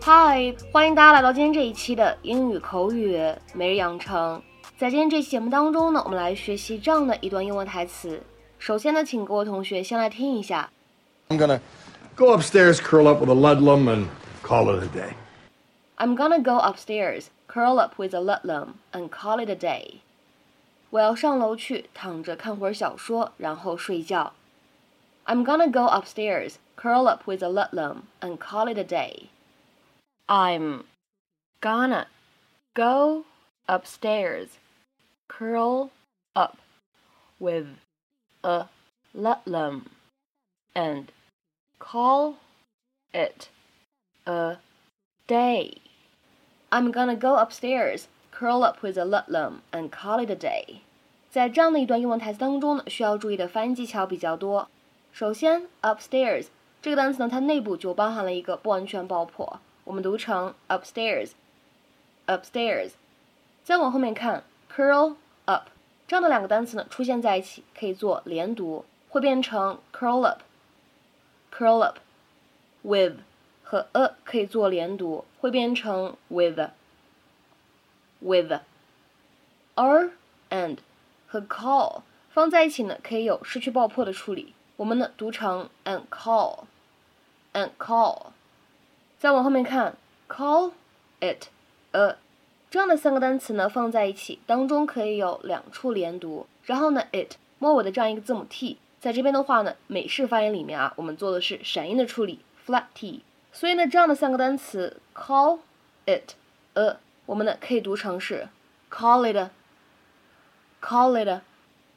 嗨，欢迎大家来到今天这一期的英语口语每日养成。在今天这期节目当中呢，我们来学习这样的一段英文台词。首先呢，请各位同学先来听一下。 I'm gonna go upstairs, curl up with a Ludlum, and call it a day. I'm gonna go upstairs, curl up with a Ludlum, and call it a day. 我要上楼去躺着看会儿小说，然后睡觉。I'm gonna go upstairs, curl up with a Ludlum, and call it a day. I'm gonna go upstairs, curl up with a Ludlum, and call it a day. I'm gonna go upstairs, curl up with a Ludlum, and call it a day. 在这样的一段英文台词当中呢，需要注意的发音技巧比较多。首先 upstairs 这个单词呢，它内部就包含了一个不完全爆破，我们读成 upstairs upstairs。 再往后面看 curl up 这样的两个单词呢出现在一起可以做连读，会变成 curl up curl up。 with 和 a 可以做连读，会变成 with with。 are and 和 call 放在一起呢可以有失去爆破的处理，我们呢读成 and call and call。 再往后面看 call it a 这样的三个单词呢放在一起当中可以有两处连读，然后呢 it 末尾的这样一个字母 t 在这边的话呢美式发音里面我们做的是闪音的处理 flat t， 所以呢这样的三个单词 call it a 我们呢可以读成是 call it a call it a。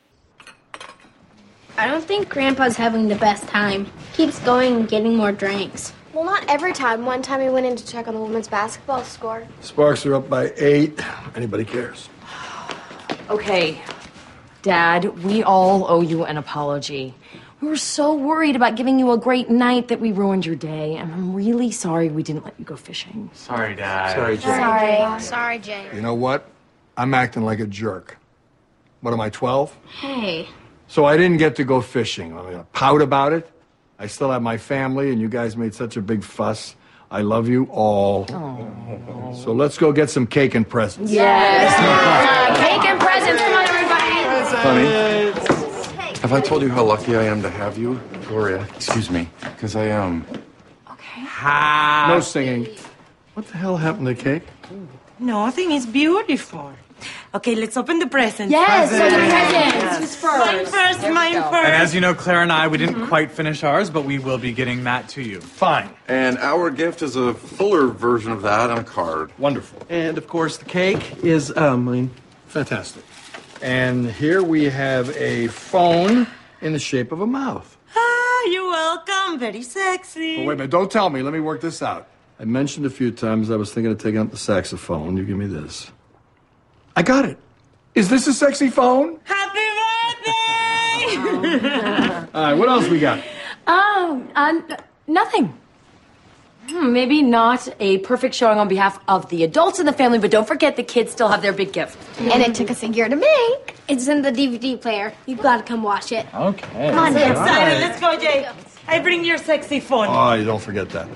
I don't think Grandpa's having the best time. Keeps going and getting more drinks. Well, not every time. One time he went in to check on the women's basketball score. Sparks are up by 8. Anybody cares? Okay, Dad, we all owe you an apology. We were so worried about giving you a great night that we ruined your day, and I'm really sorry we didn't let you go fishing. Sorry, Dad. Sorry, Jay. Sorry, Jay. You know what? I'm acting like a jerk. What am I, 12? Hey. So I didn't get to go fishing. I'm gonna pout about it. I still have my family, and you guys made such a big fuss. I love you all. Oh. So let's go get some cake and presents. Yes! Cake and presents, come on, everybody! Honey, have I told you how lucky I am to have you? Gloria, excuse me, because I am. Okay. No singing. What the hell happened to cake? Nothing. It's beautiful. Okay, let's open the presents. Yes, so the presents. Who's first? Mine first. And as you know, Claire and I, we didn't quite finish ours, but we will be getting that to you. Fine. And our gift is a fuller version of that on a card. Wonderful. And, of course, the cake is mine. Fantastic. And here we have a phone in the shape of a mouth. Ah, you're welcome. Very sexy. But wait a minute, don't tell me. Let me work this out. I mentioned a few times I was thinking of taking up the saxophone. You give me this. I got it. Is this a sexy phone? Happy birthday! All right, what else we got? Nothing. Maybe not a perfect showing on behalf of the adults in the family, but don't forget the kids still have their big gift. And it took us a year to make. It's in the DVD player. You've got to come watch it. Okay. Come on, Excited. Let's go, Jay. I bring your sexy phone. Oh, you don't forget that.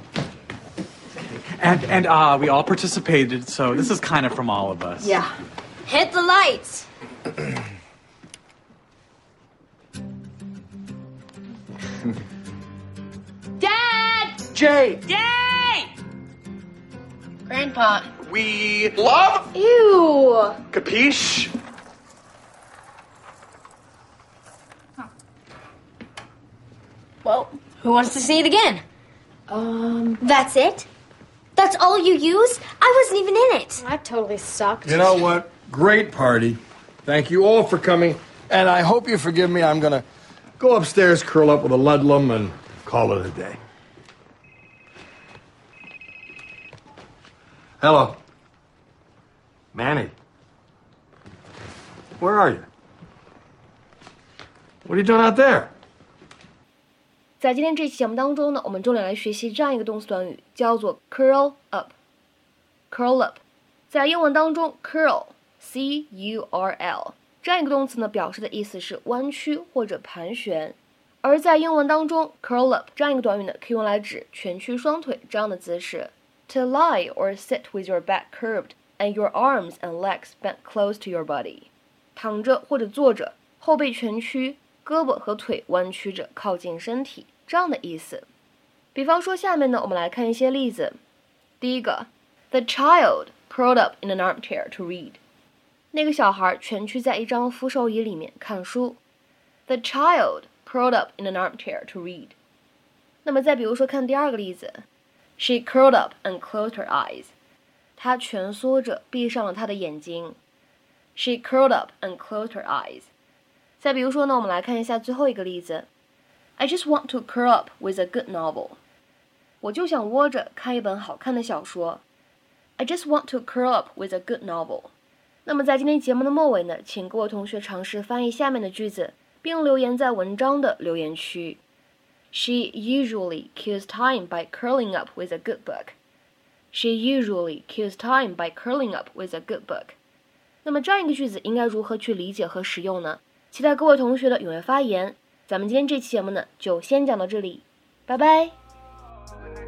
And we all participated, so this is kind of from all of us. Yeah. Hit the lights. Dad! Jay! Yay! Grandpa. We love Ew. Capiche? Well, who wants to see it again? That's it? That's all you used? I wasn't even in it. I totally sucked. You know what? Great party. Thank you all for coming. And I hope you forgive me. I'm going to go upstairs, curl up with a Ludlum, and call it a day. Hello. Manny. Where are you? What are you doing out there? 在今天这期节目当中呢，我们重点来学习这样一个动词短语，叫做 curl up。curl up， 在英文当中 curl C-U-R-L 这样一个动词呢，表示的意思是弯曲或者盘旋。而在英文当中 curl up 这样一个短语呢，可以用来指蜷曲双腿这样的姿势。 To lie or sit with your back curved and your arms and legs bent close to your body. 躺着或者坐着，后背蜷曲，胳膊和腿弯曲着靠近身体，这样的意思。比方说下面呢，我们来看一些例子。第一个 The child curled up in an armchair to read. 那个小孩蜷曲在一张扶手椅里面看书。The child curled up in an armchair to read. 那么再比如说看第二个例子 She curled up and closed her eyes. 她蜷缩着闭上了她的眼睛。She curled up and closed her eyes. 再比如说呢，我们来看一下最后一个例子 I just want to curl up with a good novel. 我就想窝着看一本好看的小说。I just want to curl up with a good novel. 那么在今天节目的末尾呢，请各位同学尝试翻译下面的句子，并留言在文章的留言区。She usually kills time by curling up with a good book. She usually kills time by curling up with a good book. 那么这样一个句子应该如何去理解和使用呢？期待各位同学的踊跃发言。咱们今天这期节目呢，就先讲到这里，拜拜。